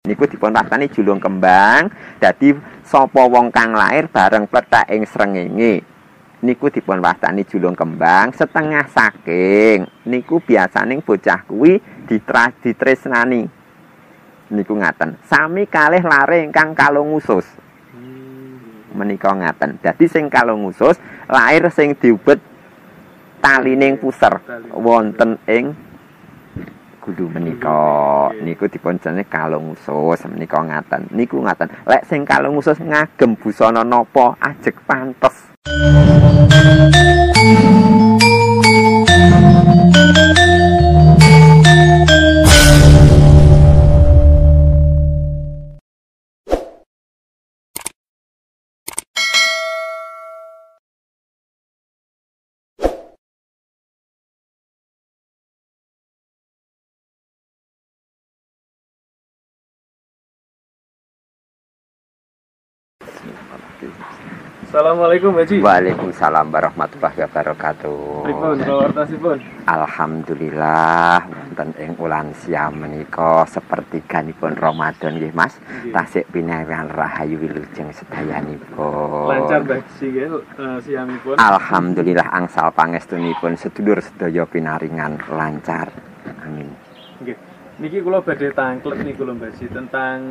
niku dipun wastani julung kembang. Dadi sapa wong kang lair bareng plethek ing srengenge niku dipun wastani julung kembang. Setengah saking niku biasane bocah kuwi ditresnani niku ngaten sami kalih lare ingkang kalung usus menika ngaten. Dadi sing kalung usus lair sing diubet talining puser wonten ing gulu menika niku dipun jenenge kalung usus menika ngaten. Niku ngaten lek sing kalung usus ngagem busana napa ajeg pantes. Assalamualaikum Haji. Waalaikumsalam warahmatullahi wabarakatuh. Pripun kawartasipun? Alhamdulillah wonten ing ulan siam menika sepertiganipun Ramadan nggih Mas. Tasik pinaringan rahayu wilujeng sedayanipun. Lancar Haji nggih siamipun. Alhamdulillah angsal pangestunipun sedulur sedaya pinaringan lancar. Amin. Nggih. Niki kula badhe tangklet niku lho Haji tentang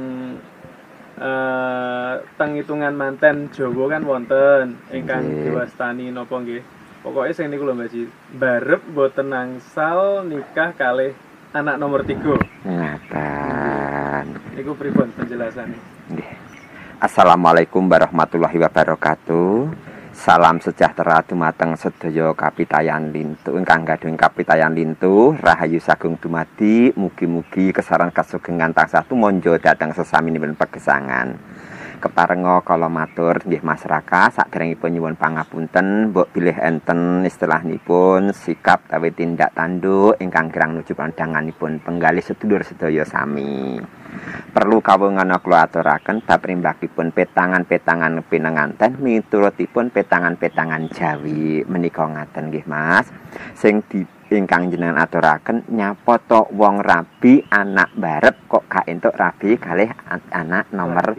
teng hitungan manten Jawa kan wonten ingkang diwastani napa nggih. Pokoke sing niku lho Mbak Ji, barep mboten nangsal nikah kalih anak nomor 3. Ngaten. Niku pripun penjelasane? Nggih. Assalamualaikum warahmatullahi wabarakatuh. Salam sejahtera dumateng sedaya kapitayan lintu ingkang gadhah kapitayan lintu rahayu sagung dumadi mugi-mugi kesaran kasugengan tansah tumonjo dhateng sesaminipun pegesangan. Keparenga kala matur nggih masyarakat saderengipun nyuwun pangapunten mbok bilih enten istilahipun sikap tawi tindak tanduk ingkang kirang nuju pandanganipun penggalih sedulur sedaya sami. Perlu kawungan kula aturaken bab rimbakipun petangan-petangan pinenganten miturutipun petangan-petangan Jawi menika ngaten nggih Mas. Sing ingkang jenengan aturaken nyapoto wong rabi anak barep kok gak entuk rabi kalih anak nomor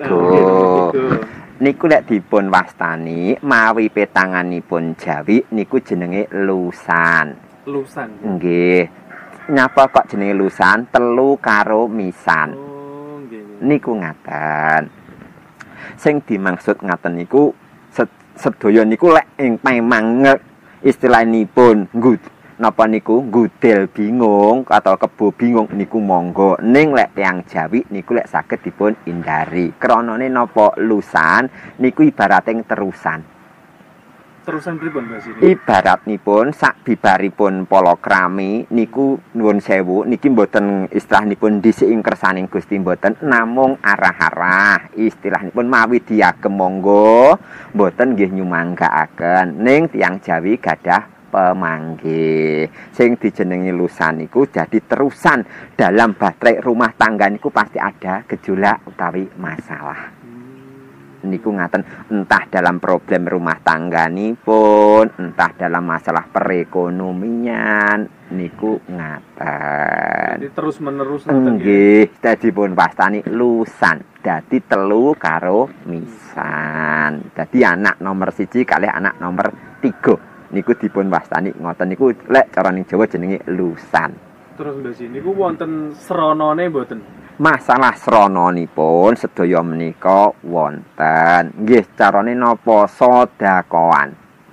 3. Niku lek dipun wastani mawi petanganipun Jawi niku jenenge lusan. Lusan. Nggih. Nyapa kok jenenge lusan telu karo misan. Oh, nggih. Niku ngaten. Sing dimaksud ngaten niku sedaya niku lek memang istilahipun napa niku gudel bingung atau kebo bingung niku monggo. Ning lek tiyang Jawi niku lek saged dipun hindari. Kranane napa lusan niku ibarating terusan. Terusan pripun Mbak Ji? Ibaratipun sak bibaripun palakrami niku nuwun sewu niki mboten istilahipun dhisik ing kersaning Gusti mboten namung arah-arah istilahipun mawi diagem monggo mboten nggih nyumanggaaken ning tiyang Jawi gadah pemanggih sing dijenengi lusan niku jadi terusan dalam bahtrik rumah tangga niku pasti ada gejolak utawi masalah. Niku ngaten entah dalam problem rumah tangga nipun entah dalam masalah perekonomian niku ngaten. Jadi terus menerus nggih dadi pun pastani lusan dadi telu karo misan dadi anak nomor 1 kalih anak nomor 3 niku dipun wastani ngoten niku lek cara ning Jawa jenenge lusan. Terus Mbak Ji niku wonten sranane mboten? Masalah srananipun sedaya menika wonten. Nggih, carane napa sedekahan.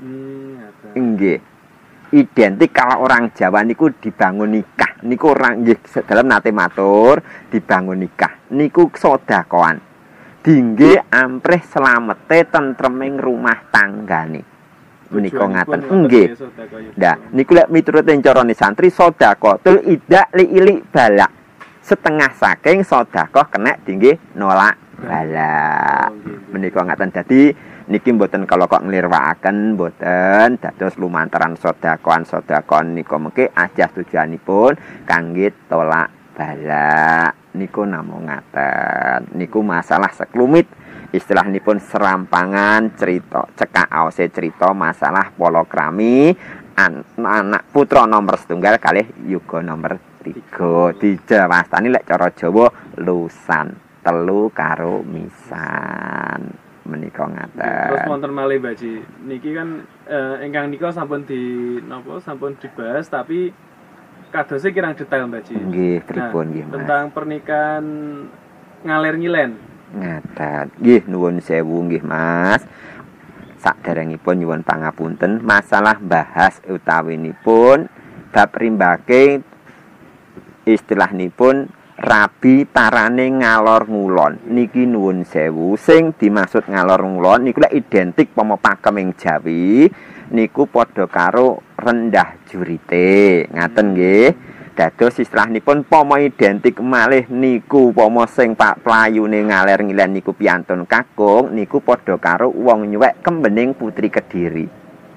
Nggih. Identik kalau orang Jawa niku dibangun nikah. Niku orang nggih dalam nate matur dibangun nikah. Niku sedekahan. Dingge amprih slamete tentreming rumah tanggane. Menika ngaten. Nggih. Nah, niku lek miturut carane santri sedekatul idak li ilik balak. Setengah saking sedekah kena tinggi nolak bala. Menika ngaten dadi niki mboten kalau kok nglirwakaken mboten dados lumantaran sedekah nika mengke ajah tujuanipun kangge tolak bala. Niku namung ngaten. Niku masalah seklumit istilahipun serampangan cerita cekak aose cerita masalah palakrami anak putra nomor 1 kalih yuga nomor 3 dijawastani lek cara Jawa lusan 3 karo misan menika ngaten. Terus wonten malih Baji niki kan ingkang nika sampun sampun dibahas tapi kadose kirang detail Baji. Nggih pripun nggih Mas. Tentang pernikahan ngalir ngilen. Ngaten. Nggih nuwun sewu nggih Mas. Saderengipun nyuwun pangapunten masalah bahas utawinipun bab rimbake istilahipun rabi parane ngalor ngulon niki nuwun sewu sing dimaksud ngalor ngulon niku lek identik pama pakeming Jawi niku padha karo rendah jurite ngaten nggih. Dados istilahipun pama identik malih niku pama sing Pak playune ngaler ngilen niku piantun kakung niku padha karo wong nyuwek kembening putri Kediri.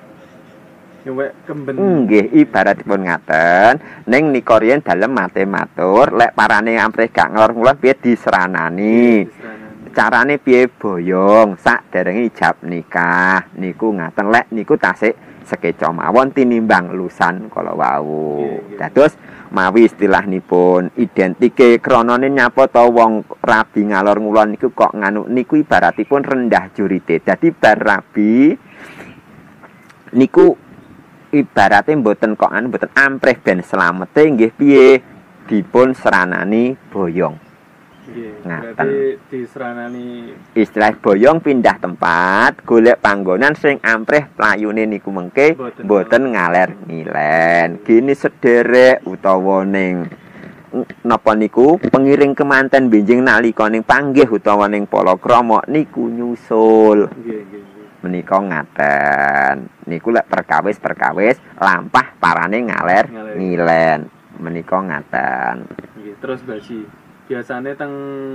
Nyuwek kemben. Nggih ibaratipun ngaten ning nika riyen dalem mate matur lek parane amprih gak ngelor ngulon piye diseranani. Carane piye boyong saderenge ijab nikah niku ngaten lek niku tasik sekeca mawon tinimbang lusan kala wau. Dados mawi istilahipun identike kronone nyapa ta wong rabi ngalor ngulon niku kok nganu niku ibaratipun rendah jurite. Dadi bar rabi niku ibarate mboten kok anu mboten amprih ben slamete nggih piye dipun seranani boyong. Nggih. Berarti diseranani istilah boyong pindah tempat golek panggonan sing amprih playune niku mengke mboten ngaler ngilen. Gini sederek utawa ning napa niku pengiring kemanten benjing nalika ning panggih utawa ning palakrama niku nyusul. Nggih. Menika ngaten. Niku lek perkawis lampah parane ngaler ngilen. Menika ngaten. Nggih, terus Baji. Biasane teng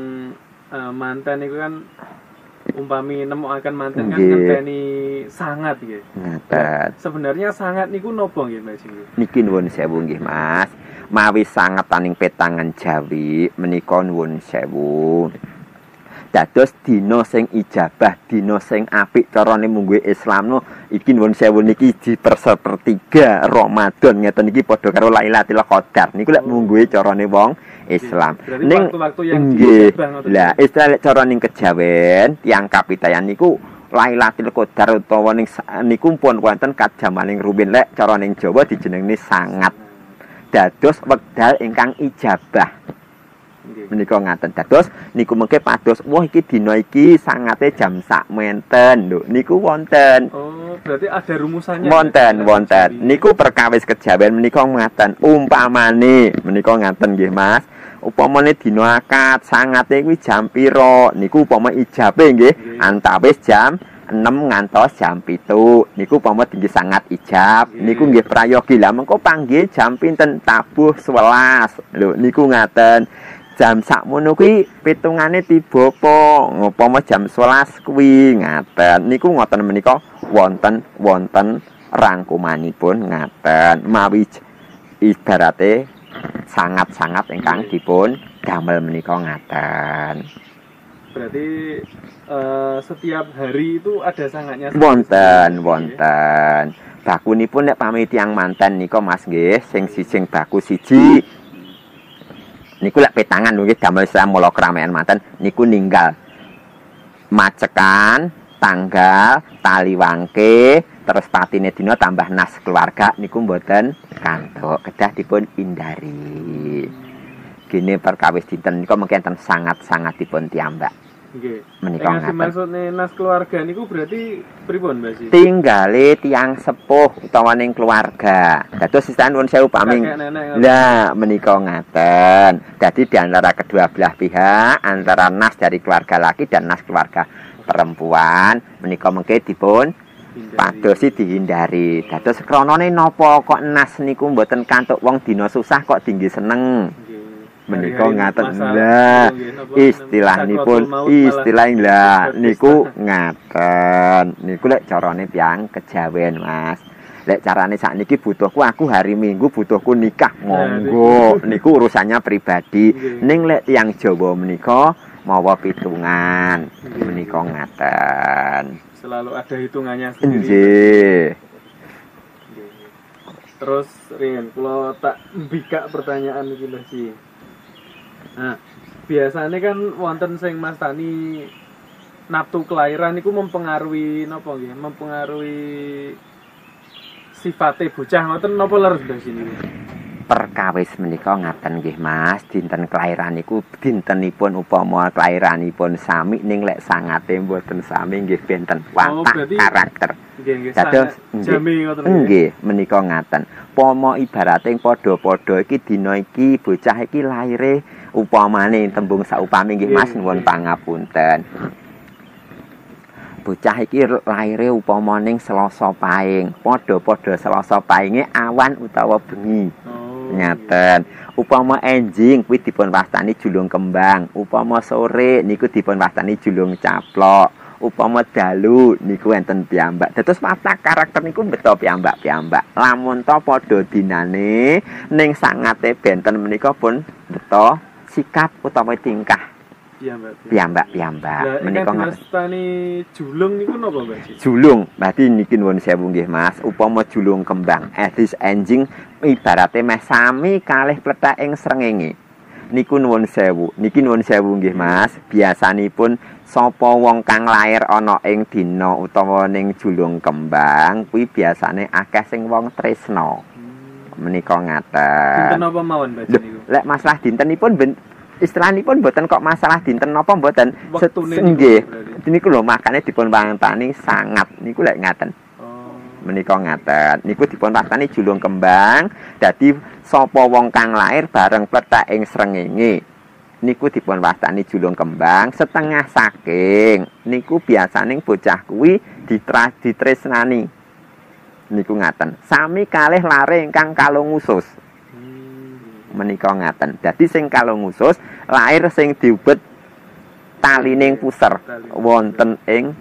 manten niku kan umpami nemokaken manten kan ngenteni sangat nggih. Ngaten. Sebenarnya sangat niku napa nggih Baji? Niki nuwun sewu nggih Mas. Mawi sangat taning petangan Jawi menika nuwun sewu. Dados dina sing ijabah, dina sing apik carane mungguhe Islam no iki nuwun sewu niki di sepertiga Ramadan ngeten iki padha karo Lailatul Qadar. Niku lek mungguhe carane wong Islam. Ning waktu-waktu yang lah istilah cara ning kejawen tiyang kapitayan niku Lailatul Qadar utawa ning niku pun wonten kadamaning rumiyin lek cara ning Jawa dijenengi sangat. Dados wekdal ingkang ijabah. Menika ngaten. Dados niku mengke pados wah iki dina iki sangate jam sak menten lho niku wonten. Oh, berarti ada rumusannya. Wonten. Niku perkawis kejawen menika ngaten. Umpamane menika ngaten nggih Mas. Upamane dina akad sangate kuwi jam pira? Niku upama ijabe nggih antawis jam 6 ngantos jam 7. Niku upama tinggi sangat ijab. Niku nggih prayogi. Lah mengko panggih jam pinten tabuh 11. Lho niku ngaten. Jam sakmono kuwi pitungane tiba apa? Upama jam 11 kuwi ngaten. Niku ngoten menika wonten rangkumanipun ngaten. Mawi ibarate sangat-sangat ingkang dipun damel menika ngaten. Berarti setiap hari itu ada sangatnya. Wonten. Bakunipun nek pamit tiyang manten nika Mas nggih, sing baku siji. Niku lek petangan nggih damel mula keramaian manten niku ninggal macekan, tanggal, tali wangke, terus patine dina tambah nas keluarga niku mboten kantuk, kedah dipun hindari. Gini perkawis dinten niku mungkin sangat-sangat dipun tiambak. Nggih. Menika ngaten. Maksudne nas keluarga niku berarti pripun Mbak Sih? Tinggale tiyang sepuh utawa ning keluarga. Dados sisan nuwun sewu paming. Lah menika ngaten. Dadi di antara kedua belah pihak, antara nas dari keluarga laki dan nas keluarga perempuan menika mengke dipun padosi dihindari. Dados kronone napa kok nas niku mboten kantuk wong dina susah kok tinggi seneng. Menika ngaten lah istilahipun istilah niku ngaten niku lek carane tiyang kejawen Mas. Lek carane sakniki butuhku aku hari Minggu butuhku nikah monggo niku urusannya pribadi. Ning lek tiyang Jawa menika mawa pitungan menika ngaten. Selalu ada hitungannya sendiri. Nggih. Terus Rian, kalau tak bika pertanyaan iki Mbah Ji. Nah, biasanya kan wonten sing mastani nafsu kelahiran iku mempengaruhi napa nggih? Mempengaruhi sifate bocah ngoten napa leres Mbah Ji niku? Perkawis menika ngaten nggih Mas, dinten kelahiran niku dintenipun upama kelahiranipun sami ning lek sangate mboten sami nggih benten watak karakter. Nggih, dados jami ngoten nggih menika ngaten. Upama ibarate padha-padha iki dina iki bocah iki laire upamane tembung saupami nggih Mas nuwun pangapunten. Bocah iki laire upama ning Selasa Pahing, padha-padha Selasa Pahinge awan utawa bengi. Ngaten. Upama enjing kuwi dipun wastani julung kembang, upama sore niku dipun wastani julung caplok, upama dalu niku enten piyambak. Dados watak karakter niku beto piyambak-piyambak. Lamun to padha dinane ning sangate benten menika pun beto sikap utawa tingkah piyambak menika ngastani julung niku napa Mbak Ji? Julung berarti niki nuwun sewu nggih Mas, upama julung kembang edis enjing ibarate meh sami kalih plethek srengenge niku nuwun sewu nggih Mas. Biasanipun sapa wong kang lair ana ing dina utawa ning julung kembang kuwi biasane akeh sing wong tresna menika ngaten. Dinten napa mawon Mbak Ji niku? Lek masalah dintenipun istilahipun mboten kok masalah dinten napa mboten. Nggih. Niku lho makane dipun wantani sangat niku lek ngaten. Menika ngaten. Niku dipun wastani julung kembang. Dadi sapa wong kang lair bareng plethek ing srengenge niku dipun wastani julung kembang. Setengah saking niku biasane bocah kuwi ditresnani. Niku ngaten. Sami kalih lare ingkang kalung usus. Menika ngaten. Dadi sing kalung usus lair sing diubet talining puser wonten ing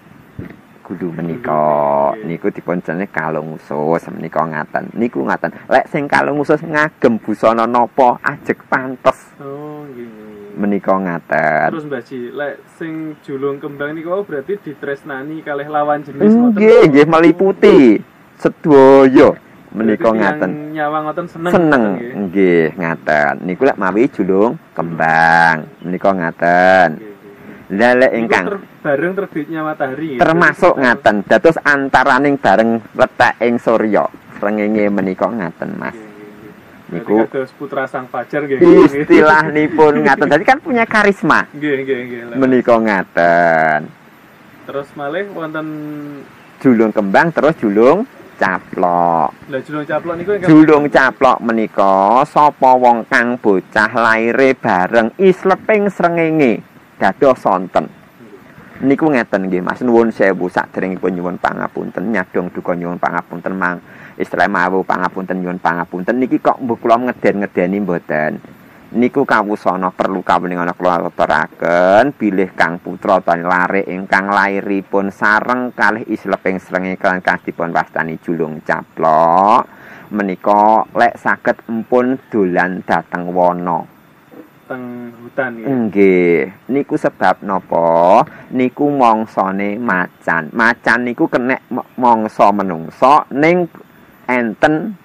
gulu menika. Niku dipun jenenge kalung usus menika ngaten. Niku ngaten. Lek sing kalung usus ngagem busana napa ajeg pantes. Oh nggih. Menika ngaten. Terus Mbah Ji, lek sing julung kembang niku berarti ditresnani kalih lawan jenis ngoten. Nggih, meliputi sedaya. Menika ngaten. Nyawang ngoten seneng nggih ngaten. Niku lek mawi julung kembang menika ngaten. Lah lek ingkang bareng terbitnya matahari termasuk ngaten. Dados antaraning bareng letak ing surya srengenge menika ngaten Mas. Niku dados putra sang fajar nggih. Istilahnipun ngaten. Dadi kan punya karisma. Nggih. Menika ngaten. Terus malih wonten julung kembang terus julung caplok. Lah julung caplok niku julung caplok menika sapa wong kang bocah laire bareng isleping srengenge dados sonten. Niku ngeten nggih Mas, nuwun sewu saderengipun nyuwun pangapunten, nyadong duka nyuwun pangapunten mang istilah mawu pangapunten nyuwun pangapunten niki kok mbok kula ngeden-ngedeni mboten. Niku kawusana perlu kawuningan kula aturaken bilih kang putra tan lare ingkang lairipun sareng kalih isleping srengenge kang dipun wastani julung caplok menika lek saged empun dolan dhateng wana teng hutan ya. Nggih, niku sebab napa? Niku mangsane macan. Macan niku kenek mangsa menungsa ning enten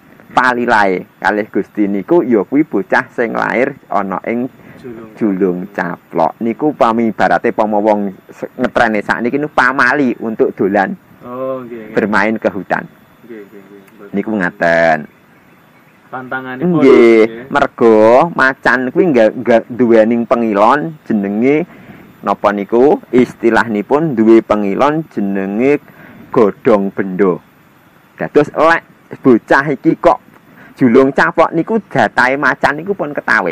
palilae kalih Gusti niku ya kuwi bocah sing lair ana ing julung caplok. Niku pami ibarate pama wong ngetrene sakniki niku pamali untuk dolan. Oh, nggih. Bermain ke hutan. Nggih. Niku ngaten. Pantanganipun. Nggih, merga macan kuwi enggak duwening pengilon jenenge napa niku? Istilahnipun duwe pengilon jenenge godhong benda. Dados lek bocah iki kok julung caplok niku datahe macan niku pun ketawis.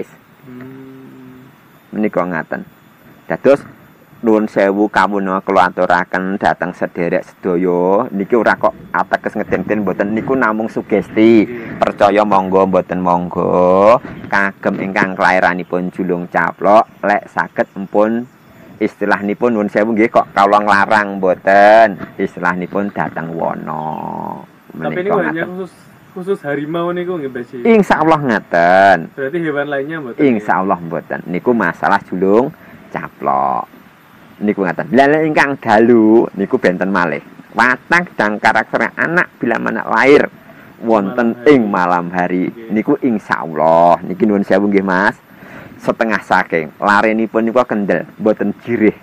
Menika ngaten. Dados nuwun sewu kawula kula aturaken dhateng sederek sedaya niki ora kok ateges ngeden-ngeden mboten niku namung sugesti. Percaya monggo mboten monggo kagem ingkang kelairanipun julung caplok lek saged empun istilahnipun nuwun sewu nggih kok kawula nglarang mboten istilahnipun dhateng wana. Tapi ini hanya khusus harimau niku nggih Mbak Ji. Insyaallah ngaten. Berarti hewan lainnya mboten. Insyaallah mboten. Niku masalah julung caplok. Niku ngaten. Lah ingkang dalu niku benten malih. Watak dan karakter anak bila mana lahir wonten ing malam hari. Niku insyaallah niki nuwun sewu nggih Mas. Setengah saking larenipun niku kendel mboten jirih.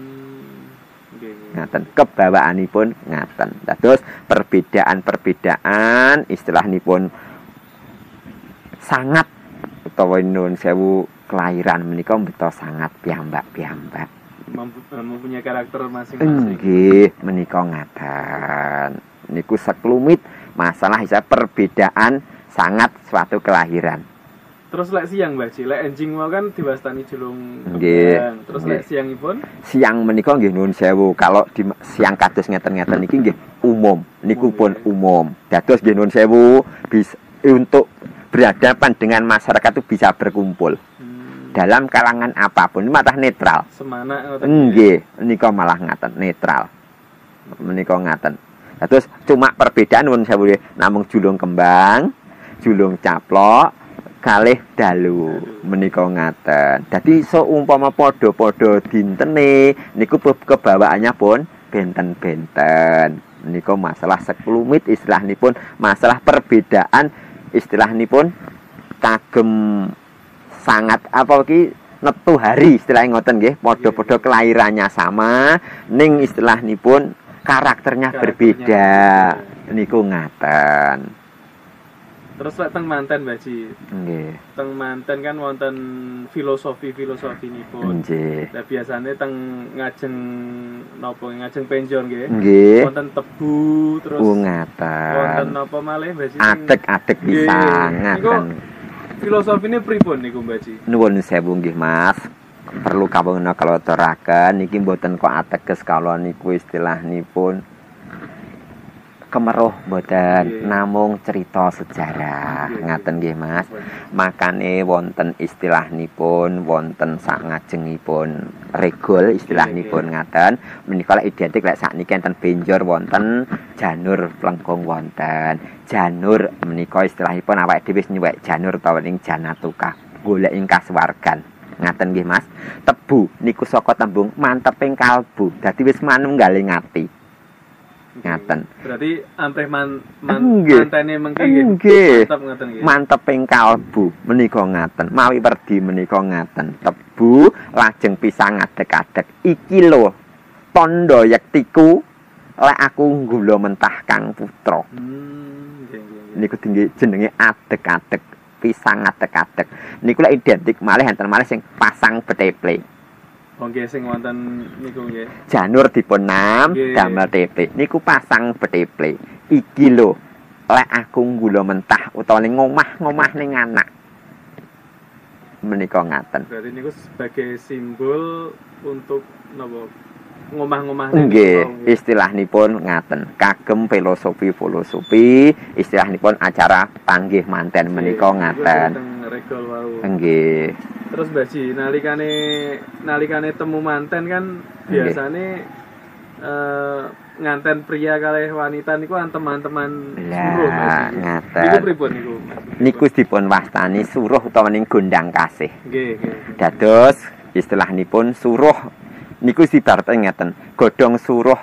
Ngaten kebawaanipun ngaten. Dados perbedaan-perbedaan istilahipun sangat utawa nuwun sewu kelahiran menika beto sangat piyambak-piyambak. Mempunyai karakter masing-masing. Nggih, menika ngaten. Niku sekelumit masalah isa perbedaan sangat suatu kelahiran. Terus lek siang Mbak Ci, lek enjing mau kan diwastani julung nggih. Terus lek siangipun? Siang menika nggih nuwun sewu. Kalau di siang kados ngeten-ngeten niki nggih umum. Niku pun umum. Dados nggih nuwun sewu bisa untuk berhadapan dengan masyarakat itu bisa berkumpul. Dalam kalangan apapun malah netral. Semana ngoten. Nggih, nika malah ngaten netral. Menika ngaten. Terus cuma perbedaan nuwun sewu namung julung kembang, julung caplok, kalih dalu menika ngaten. Dadi seumpama padha-padha dintene niku kebawaannya pun benten-benten. Menika masalah sekelumit istilahipun, masalah perbedaan istilahipun kagem sangat apa iki netu hari istilah ngoten nggih, padha-padha kelahirannya sama ning istilahipun karakternya berbeda. Niku ngaten. Terus lek teng manten Mbak Ci. Nggih. Teng manten kan wonten filosofi nipun. Nggih. Lah biasane teng ngajeng napa ngajeng penjon nggih. Nggih. Wonten tebu terus ngaten. wonten napa malih Mbak Ci? Adeg-adeg pisan ngaten. Filosofine pripun niku Mbak Ci? Nuwun sewu nggih Mas. Perlu kawula kaloteraken niki mboten kok ateges kala niku istilahipun kemeruh mboten, namung cerita sejarah. Ngaten nggih Mas. Makane wonten istilahipun, wonten sak ngajengipun regol istilahipun ngaten. Menika lek identik lek sakniki enten benjor wonten, janur plengkung wonten. Janur menika istilahipun awake dhewe wis nyuwek janur utawa ing janatuka, golek ing kasuwargan. Ngaten nggih Mas. Tebu niku saka tembung manteping kalbu. Dadi wis manunggaling ati. Ngaten. Berarti amprih mantene mengki nggih. Mantep ngaten nggih. Manteping kalbu menika ngaten. Mawi werdi menika ngaten. Tebu lajeng pisang adeg-adeg. Iki lho tandha yektiku lek aku nggula mentah Kang Putra. Niku jenenge adeg-adeg, pisang adeg-adeg. Niku lek identik malih enten malih sing pasang beteple. Nggih sing wonten niku nggih. Janur dipun nam damel teple. Niku pasang beteple. Iki lho lek aku nggula mentah utawa ning ngomah ning anak. Menika ngaten. Berarti niku sebagai simbol untuk napa ngomah-ngomah nggih. Istilahipun ngaten. Kagem filosofi istilahipun acara panggih manten menika ngaten. Regol wau. Nggih. Terus Mbak Ci, nalikane temu manten kan biasane nganten pria kalih wanita niku teman-teman suruh. Ngaten. Niku pripun niku? Niku dipun wastani suruh utawa ning gondang kasih. Nggih. Dados istilahipun suruh niku sibarate ngeten. Godhong suruh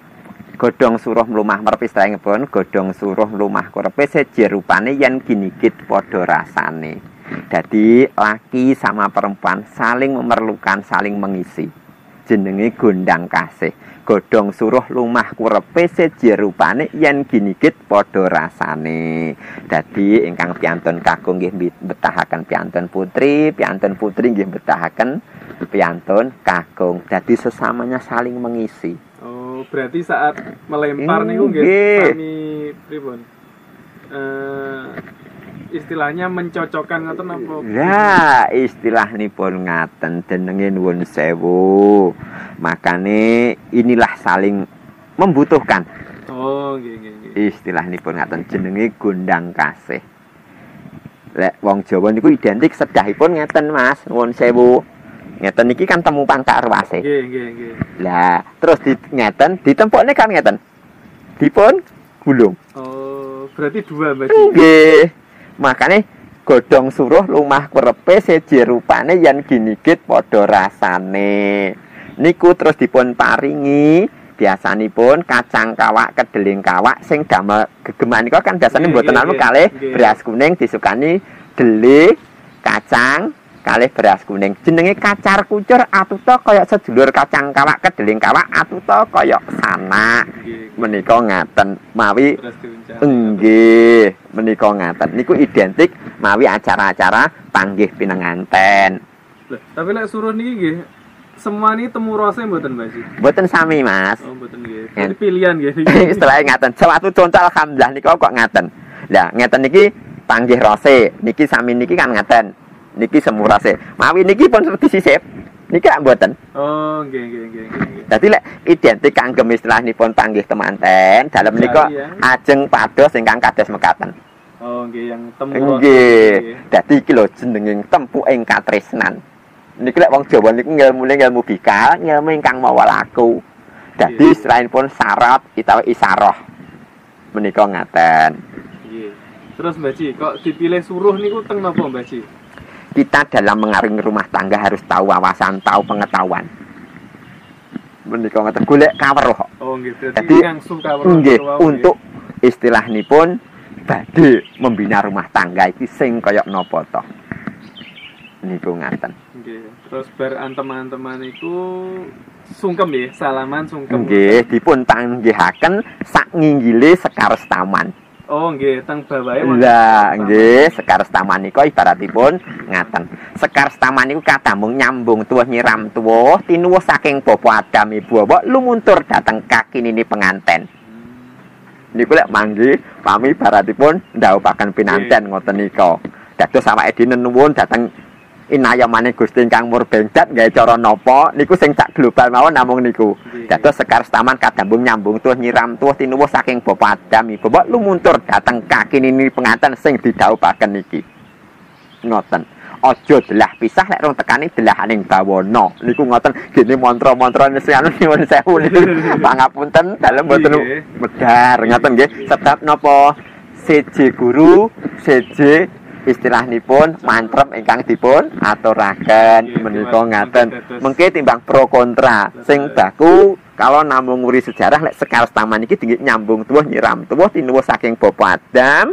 mlumah merep istilahipun godhong suruh mlumah kurepe seje rupane yen ginigit padha rasane. Jadi laki sama perempuan saling memerlukan, saling mengisi. Jenenge gondang kasih. Godhong suruh lumah kurepe seje rupane yen ginigit padha rasane. Dadi ingkang piantun kakung nggih betahaken piantun putri nggih betahaken piantun kakung. Dadi sesamanya saling mengisi. Oh, berarti saat melempar niku nggih sami pripun? Istilahnya mencocokkan ngoten apa? Ya, istilahipun ngaten jenenge nuwun sewu. Makane inilah saling membutuhkan. Oh, nggih. Istilahipun ngaten jenenge gondang kasih. Lek wong Jawa niku identik sedahipun ngeten Mas, nuwun sewu. Ngeten iki kan temu pangkak ruwase. Nggih. Lah, terus ngeten ditempokne kan ngeten. Dipun gulung. Oh, berarti dua Mbak. Nggih. Makane godhong suruh lumah kurepe seje rupane yen ginigit padha rasane. Niku terus dipun paringi biasanipun kacang kawak kedeling kawak sing damel gegeman niku kan biasane mboten anu kalih beras kuning disukani deli kacang kalih beras kuning. Jenenge kacar kucur atuta kaya sedulur kacang kawak kedeling kawak atuta kaya sanak. Menika ngaten mawi nggih menika ngaten niku identik mawi acara-acara panggih pinenganten. Tapi lek suruh niki nggih semua ini temu rasa mboten Mbak Ji? Mboten sami Mas. Oh mboten nggih. Jadi pilihan nggih. Istilahnya ngaten. Sewatu contoh alhamdulillah niku kok ngaten. Lah ngeten niki panggih rasa niki sami niki kan ngaten. Niki semu rasa. Mawi niki pun disisip. Niki lak mboten. Oh nggih. Dadi lek identik kangge istilahipun panggih temanten dalem menika ajeng pados ingkang kados mekaten. Oh nggih yang temu rasa. Nggih. Dadi iki lho jenenging tempuking katresnan. Niki lek wong Jawa niku ngilmune ngilmu bikal, ngilmu ingkang mawa laku. Dadi istilahipun syarat utawa isaroh. Menika ngaten. Nggih. Terus Mbak Ji, kok dipilih suruh niku teng napa Mbak Ji? Kita dalam mengarungi rumah tangga harus tahu wawasan, tahu pengetahuan. Menika ngaten golek kaweruh. Oh nggih, dadi langsung kaweruh. Nggih, untuk istilahipun badhe membina rumah tangga iki sing kaya napa to. Niku ngaten. Nggih. Terus bar antem-anteman iku sungkem nggih, salaman sungkem. Nggih, dipun panggihaken sak nginggile Sekar Taman. Oh nggih, teng bawahe. Lah nggih, Sekar Taman niku ibaratipun ngaten. Sekar Taman niku kadamung nyambung tuwuh nyiram tuwuh tinuwuh saking Bapa Adam Ibu Hawa lumuntur dhateng kakinine penganten. Niku lek manggi pami ibaratipun ndhawuhaken pinanten ngoten nika. Dados awake dhewe nuwun dhateng inayamane Gusti ingkang murbengdat gawe cara napa niku sing sak global mawon namung niku. Dados Sekar Taman kadambung nyambung tuh nyiram tuh tinuwuh saking Bapa Adam Ibu Hawa lumuntur dhateng kakinine penganten sing didhawuhaken niki. Ngoten. Aja delah pisah lek rong tekani delahaning bawana. Niku ngoten gene mantra-mantra sing anu nyuwun sewu niku. Pangapunten dalem mboten medhar ngoten nggih. Sebab napa siji guru, siji istilahipun mantrem ingkang dipun aturaken menika ngaten. Mengke timbang pro kontra sing baku kalau namung nguri sejarah lek Sekar Taman iki dinggih nyambung tuwuh nyiram tuwuh tinuwuh saking Bapa Adam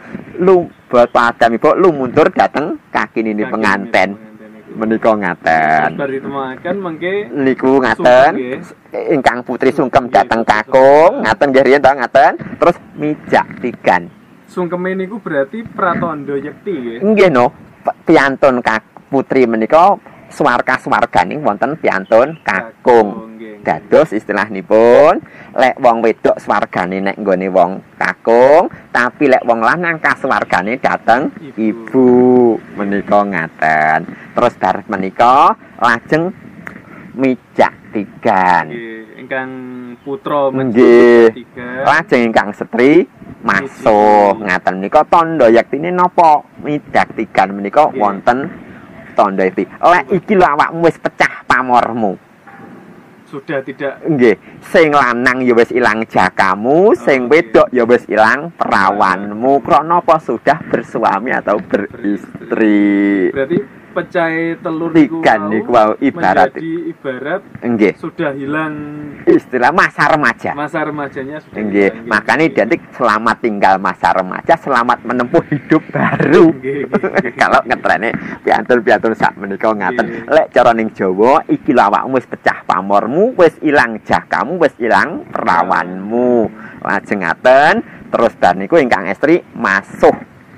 Bapa Adam Ibu lumuntur dhateng kakinine penganten. Menika ngaten. Bar ditemaken mengke niku ngaten ingkang putri sungkem dhateng kakung, ngaten nggih riyen to ngaten. Terus mijak tigan. Sungkeme niku berarti pratandha yekti nggih. Nggih no, piantun putri menika swarga-swarganing wonten piantun kakung. Dados istilahipun lek wong wedok swargane nek nggone wong kakung, tapi lek wong lanang kaswargane dhateng ibu. Menika ngaten. Terus bar menika lajeng mijak tigan. Nggih, ingkang putra nggih. Lajeng ingkang setri masuh ngaten menika tandha yektine napa? Mijak tigan menika wonten tandha iki. Lek iki lho awakmu wis pecah pamormu. Sudah tidak nggih, sing lanang ya wis ilang jakamu, sing wedok ya wis ilang perawanmu. Krana apa sudah bersuami atau beristri. Berarti pecah telur tigan niku ibarat nggih sudah hilang istilah masa remaja. Masa remajanya sudah nggih. Makanya identik selamat tinggal masa remaja, selamat menempuh hidup baru. Kalau ngetrene piantun-piantun sak menika ngaten. Lek cara ning Jawa iki lho awakmu wis pecah pamormu, wis ilang jakamu, wis ilang perawanmu. Lajeng ngaten, terus bar niku ingkang estri masuh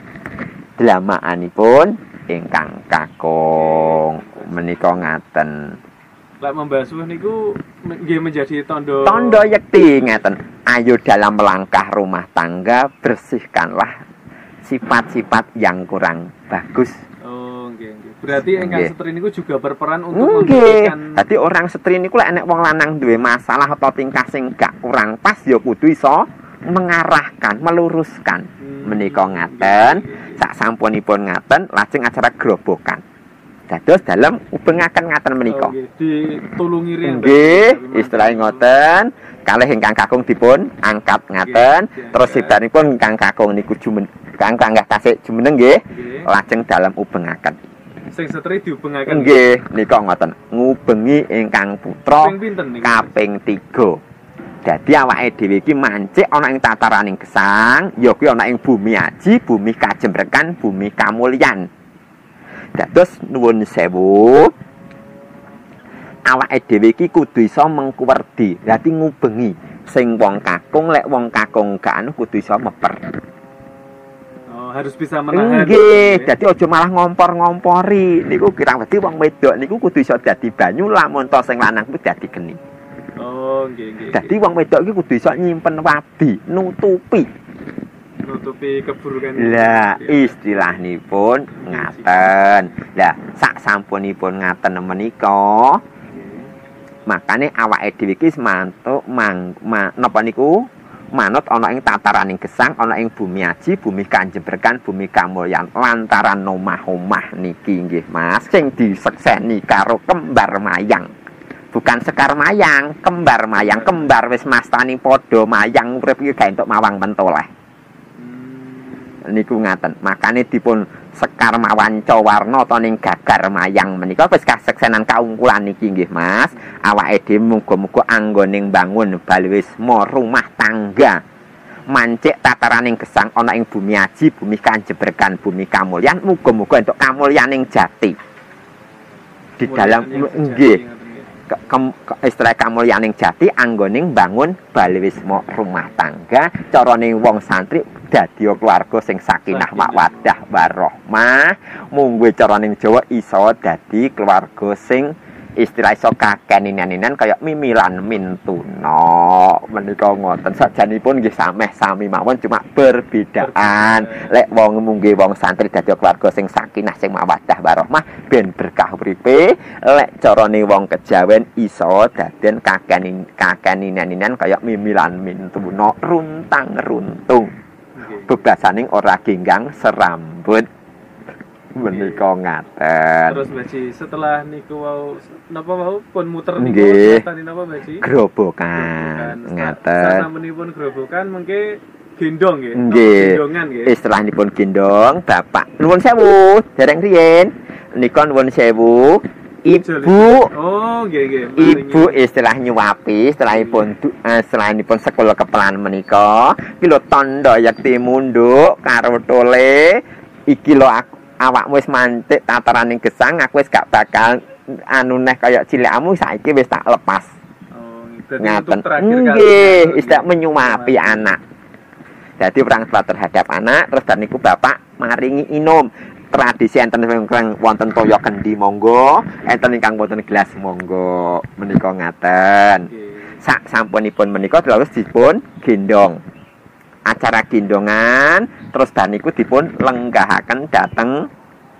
dlamakanipun ingkang kakung menika ngaten. Lek membasuh niku nggih menjadi tanda yekti ngaten. Ayo dalam melangkah rumah tangga bersihkanlah sifat-sifat yang kurang bagus. Oh nggih. Berarti ingkang setri niku juga berperan untuk memberikan. Dadi orang setri niku lek enek wong lanang duwe masalah atau tingkah sing gak kurang pas ya kudu iso mengarahkan, meluruskan. Menika ngaten. Sak sampunipun ngaten lajeng acara grobokan. Dados dalem ubengaken ngaten menika. Nggih, ditulungi riyen. Nggih, istilah ngoten. Kalih ingkang kakung dipun angkat ngaten, terus sedanipun ingkang kakung niku kangkang tasik jumeneng nggih. Lajeng dalem ubengaken. Sing setri diubengaken. Nggih, nika ngoten. Ngubengi ingkang putra kaping 3. Dadi awake dhewe iki mancik ana ing tataraning gesang, ya kuwi ana ing bumi aji, bumi kajembrekan, bumi kamulyan. Dados nuwun sewu. Awake dhewe iki kudu iso mengkuwerdi, dadi ngubengi sing wong kakung lek wong kakung gak anu kudu iso meper. Harus bisa menahan. Nggih, dadi aja malah ngompor-ngompori. Niku kirang wedi wong wedok niku kudu iso dadi banyu lamun to sing lanang kuwi dadi geni. Oh, nggih. Dadi wong wedok iki kudu iso nyimpen wadi, nutupi keburukan. Lah, istilahipun ngaten. Lah, sak sampunipun ngaten menika, makane awake dhewe iki mantuk napa niku? Manut ana ing tataraning gesang, ana ing bumi aji, bumi kanjebrekan, bumi kamulyan lantaran omah-omah niki nggih Mas sing disekseni karo kembar mayang. Bukan sekar mayang, kembar mayang, kembar wis mastani padha mayang urip iki gak entuk mawang pentoleh. Niku ngaten. Makane dipun sekar mawanca warna ta ning gagar mayang menika wis kaseksenan kaungkulan niki nggih Mas. Awake dhewe muga-muga anggone bangun balwisma rumah tangga. Mancik tataraning gesang ana ing bumi aji, bumi kanjebrekan, bumi kamulyan, muga-muga entuk kamulyaning jati. Di dalam nggih istilah kamulyaning jati anggoning bangun balwisma rumah tangga, carane wong santri dadi keluarga sing sakinah mawaddah warahmah. Mungguh carane Jawa iso dadi keluarga sing istilah iso kakeninan kaya mimilan mintuna. Menika ngoten sajanipun nggih sameh sami mawon cuma berbedaan. Lek wong munggih wong santri dadi keluarga sing sakinah sing mawaddah warahmah ben berkah uripe. Lek carane wong kejawen iso daden kakeninan kaya mimilan mintuna runtang runtung. Bebasaning ora genggang serambut. Menika ngaten. Terus Baji setelah niku wau napa wau pun muter niku tani napa Baji? Grobokan. Ngaten. Sasampunipun grobokan mengke gendong nggih. Gendongan nggih. Istilahipun gendong bapak. Nuwun sewu, dereng riyen. Nika nuwun sewu. Ibu. Oh, nggih. Ibu istilah nyuwapi, setelahipun sekolah kepelan menika, iki lho tandha yakti munduk karo tole. Iki lho awakmu wis mantik tataraning gesang, aku wis gak bakal anu neh kaya cilikmu saiki wis tak lepas. Oh, ngaten. Nggih, istilah menyuwapi anak. Jadi orang tua terhadap anak, terus dan niku bapak maringi inum. Tradisi enten ingkang wonten toya kendi monggo, enten ingkang wonten gelas monggo. Menika ngaten. Sak sampunipun menika terus dipun gendong. Acara gendongan terus baniku dipun lenggahaken dhateng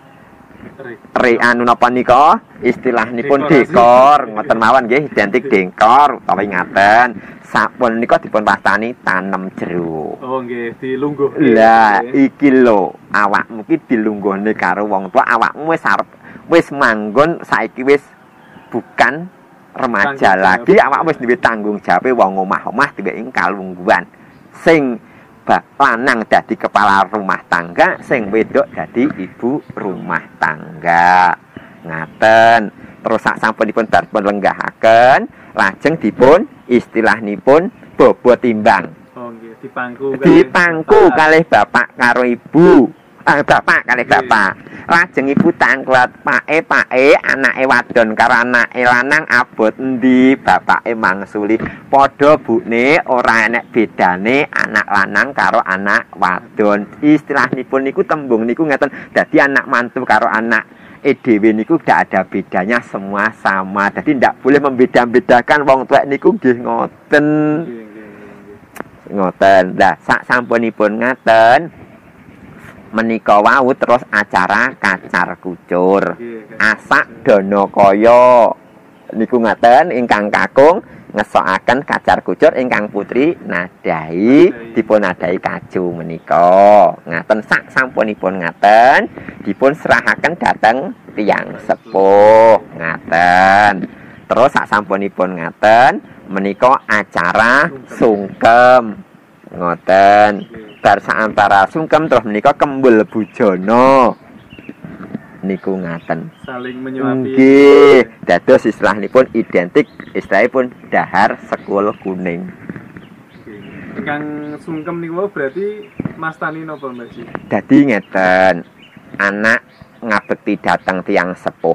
anu napa nika istilahipun dekor ngoten mawon nggih identik dekor utawa ngaten sapun nika dipun wastani tanem jeruk. Oh nggih dilungguh. Lah iki lho awakmu ki dilungguhne karo wong tua, awakmu wis arep wis manggon saiki wis bukan remaja lagi, awakmu wis duwe tanggung jawab wong omah-omah diweki kalungguhan sing lanang dadi kepala rumah tangga, sing wedok dadi ibu rumah tangga. Ngaten. Terus sak sampunipun dipun lenggahaken, lajeng dipun istilahipun bobot timbang. Oh nggih, dipangku kalih bapak karo ibu. Bapak kalih bapak. Lajeng ibu tanglet pake anake wadon karo anake lanang abot endi, bapake mangsuli padha bune ora enek bedane anak lanang karo anak wadon. Istilahipun niku tembung niku ngeten, dadi anak mantu karo anak dhewe niku gak ada bedanya, semua sama. Dadi ndak boleh membeda-bedakan wong tuwek niku nggih ngoten. Ngoten. Lah sak sampunipun ngaten menika wau terus acara kacar kucur. Asak dana kaya niku ngaten ingkang kakung ngesokaken kacar kucur, ingkang putri nadahi dipun nadahi kaju menika. Ngaten sak sampunipun ngaten dipun serahaken dhateng tiyang sepuh. Ngaten. Terus sak sampunipun ngaten menika acara sungkem. Ngoten. Bar saantara sungkem terus menika kembul bujana. Niku ngaten. Saling menyuapi. Nggih, dados istilahipun identik, istilahipun dahar sekul kuning. Kang sungkem niku berarti mastani napa Mbak Ji? Dadi ngeten, anak ngabekti dateng tiyang sepuh.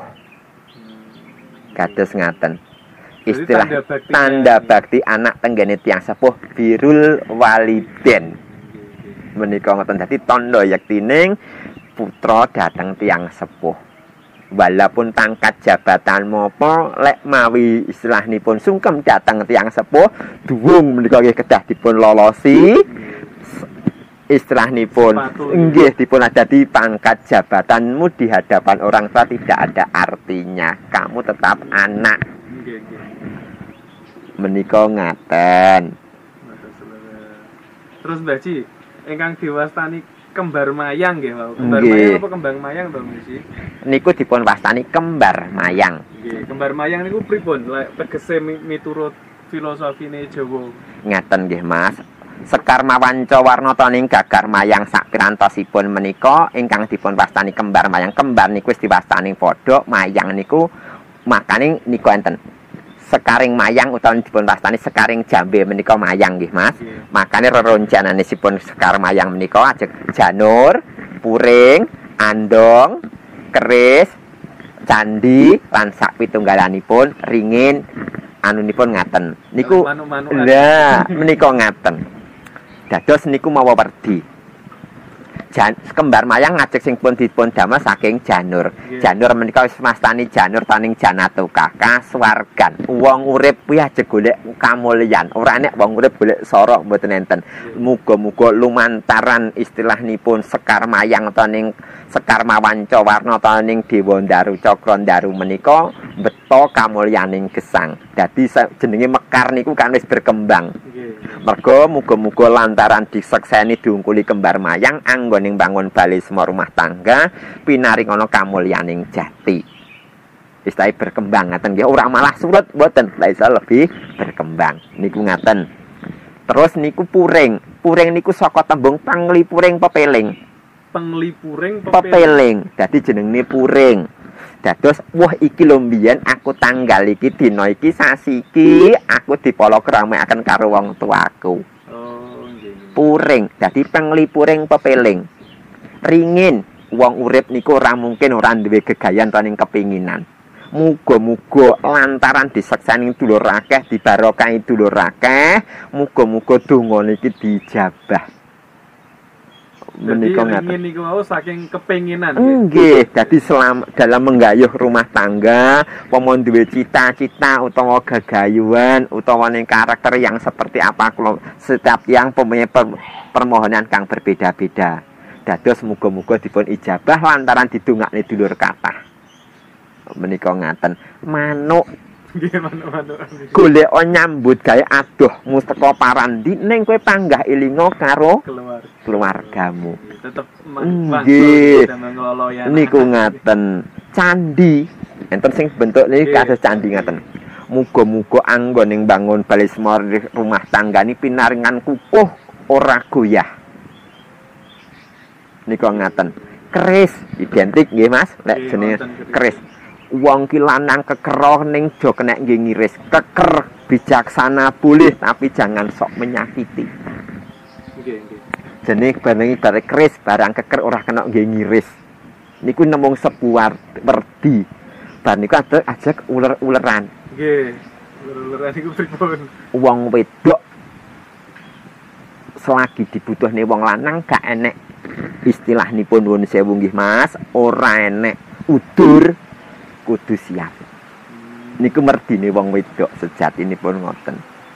Kados ngaten. Istilah tanda bakti anak tenggene tiyang sepuh birrul waliden. Menika ngoten dadi tandha yaktining putra dateng tiyang sepuh. Walaupun pangkat jabatan mopo lek mawi istilahipun sungkem dateng tiyang sepuh duwung menika nggih kedah dipun lolosi. Istilahipun nggih dipun adati pangkat jabatanmu di hadapan orang tua tidak ada artinya. Kamu tetap anak. Menika ngaten. Terus Mbak Ji, ingkang diwastani kembar mayang nggih, Pak. Kembar mayang apa kembang mayang to, Mbak Ji? Niku dipun wastani kembar mayang. Nggih, kembar mayang niku pripun? Lek tegese miturut filosofine Jawa. Ngaten nggih, Mas. Sekar mawanca warna taning gagar mayang sak pirantosipun menika ingkang dipun wastani kembar mayang. Kembar niku wis diwastani padha, mayang niku makane niku enten. Sekaring mayang utawa dipun wastani sekaring jambe menika mayang nggih, Mas. Makane reroncananipun sekar mayang menika ajeng janur, puring, andong, keris, candi lan sak pitunggalanipun ringin anunipun ngaten. Niku lha menika ngaten. Dados niku mawa werdi. Kembar mayang ngajek sing pun dipun damel saking janur. Janur menika wis mastani janur taning janatuka kasuwargan. Wong urip kuwi aja golek kamulyan. Ora nek wong urip golek sorok mboten enten. Muga-muga lumantaran istilahipun sekar mayang taning sekar mawanca warna taning dewa Ndaru Cakra Ndaru menika beto kamulyaning gesang. Dadi jenenge mekar niku kan wis berkembang. Mergo muga-muga lantaran disekseni diungkuli kembar mayang anggoning bangun bali semua rumah tangga pinaringana kamulyaning jati. Istilah berkembang ngaten nggih, ora malah surut mboten, lha iso lebih berkembang. Niku ngaten. Terus niku puring. Puring niku saka tembung panglipuring pepeling. Penglipuring pepeling. Dadi jenenge puring. Dados wah iki lho mbiyen aku tanggal iki dina iki sasi iki aku dipolo keramekaken karo wong tuaku. Oh, nggih. Puring, dadi penglipuring pepeling. Ringin, wong urip niku ora mungkin ora duwe gegayan taning kepinginan. Muga-muga lantaran disekseni dulur akeh, dibarokahi dulur akeh, muga-muga donga niki dijabah. Menika ingin niku wau saking kepinginan. Nggih, dadi dalam menggayuh rumah tangga, pomon duwe cita-cita utawa gagayuhan utawa ning karakter yang seperti apa kula setiap yang mempunyai permohonan kang berbeda-beda. Dados muga-muga dipun ijabah lantaran didongakne dulur kathah. Menika ngaten. Manuk nggih manuk-manuk. Golek nyambut gawe adoh mustaka parandi ning kowe panggah elinga karo keluargamu. Tetep nggih. Niku ngaten. Candi enten sing bentuk niki kados candi ngaten. Muga-muga anggoning bangun bali semar rumah tanggani pinaringan kukuh ora goyah. Niku ngaten. Keris identik nggih Mas, lek jenenge keris. Wong ki lanang kekero ning do kenek nggih ngiris. Keker bijaksana boleh tapi jangan sok menyakiti. Nggih, nggih. Jenenge bareng ibarat keris, barang keker ora kena nggih ngiris. Niku nemung sebuah werdi. Bar niku ajak uler-uleran. Nggih. Uler-uleran niku pripun? Wong wedok selagi dibutuhne wong lanang gak enek istilahipun nuwun sewu nggih Mas, ora enek udur kudu siap. Niku merdine wong wedok sejatinipun ngoten.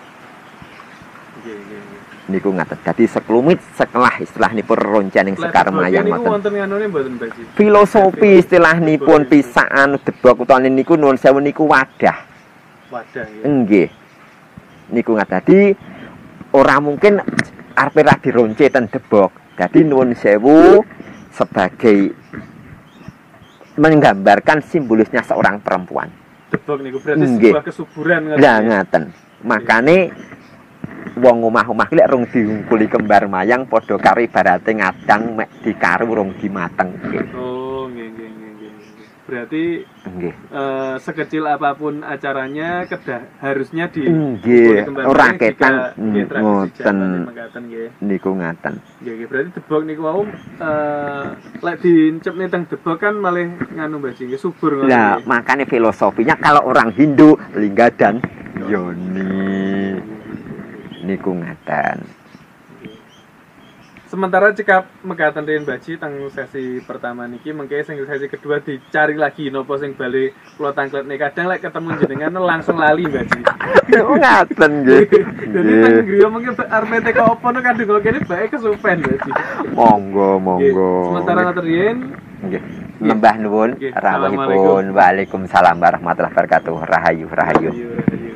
Nggih. Niku ngaten. Dadi seklumit sekelah istilahipun roncaning sekar mayang ngoten. Niku wonten nganune mboten Mbak Ji? Filosofi istilahipun pisaan debok utawa niku nuwun sewu niku wadah. Wadah ya. Nggih. Niku ngaten. Dadi ora mungkin arepe ra dironce ten debok. Dadi nuwun sewu sebagai menggambarkan simbolisnya seorang perempuan. Debok niku berarti sebuah kesuburan ngoten. Lah ngaten. Makane wong omah-omah lek rung diungkuli kembar mayang padha karo ibarate ngadang mek dikaru rung dimatengke. Oh, nggih. Berarti Nggih. sekecil apapun acaranya harusnya di Nggih, ora ketan ngoten ngoten niku ngaten. Nggih, berarti debok niku wau lek diencepne teng debok kan malah nganu Mbak Ji, subur ngono. Nah, makanya filosofinya kalau orang Hindu lingga dan yoni niku ngaten. Sementara cekap mekaten Riyen Mbak Ji teng sesi pertama niki mengke sing sesi kedua dicari lagi nopo sing bali kula tangkletne kadang lek ketemu jenengan langsung lali Mbak Ji. Ngaten nggih. Jadi teng griya mengke arep teko opo no kadung kok kene bae kesupen Mbak Ji. Monggo monggo. Sementara ngaten Riyen nggih. Lembah nuwun rawuhipun. Waalaikumsalam warahmatullahi wabarakatuh. Rahayu rahayu.